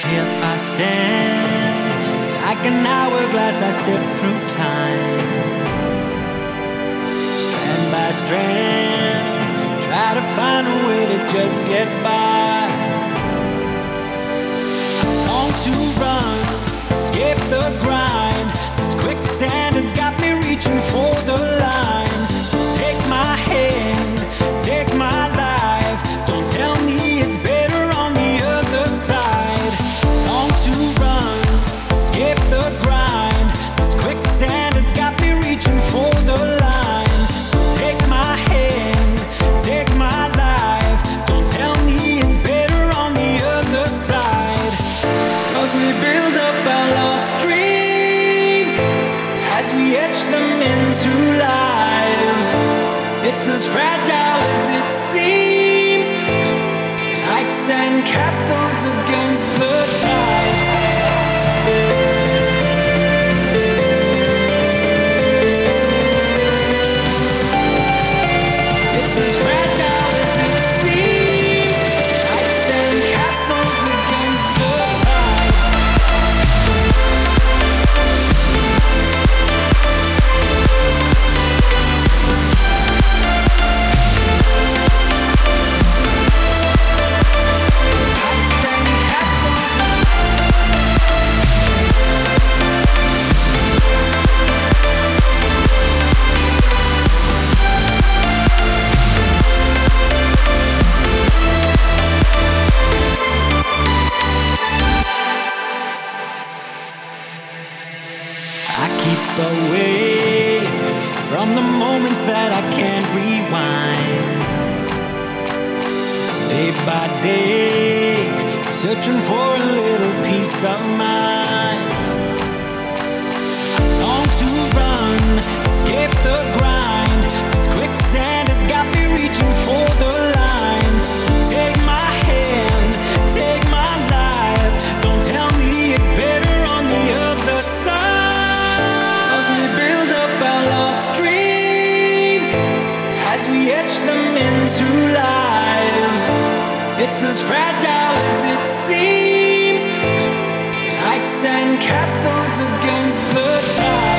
Here I stand, like an hourglass I sift through time. Strand by strand, try to find a way to just get by. I long to run, escape the grind. This quicksand has got me reaching for the line. So take my hand, take my life. Don't tell me it's better on the other side. Long to run, escape the grind. This quicksand has got me reaching for the line. So take my hand, take my life. Don't tell me it's better on the other side. 'Cause we build up our lost dreams as we etch them into life. It's as fragile as it seems, like sand castles against the tide. It's as fragile as it seems, like sand castles against the tide. I keep away from the moments that I can't rewind. Day by day, searching for a little peace of mind. I long to run, escape the grind. This quicksand has got me reaching for the line. So take my hand, take my life. Don't tell me it's better on the other side. We build up our lost dreams as we etch them into life. It's as fragile as it seems, like sand castles against the tide.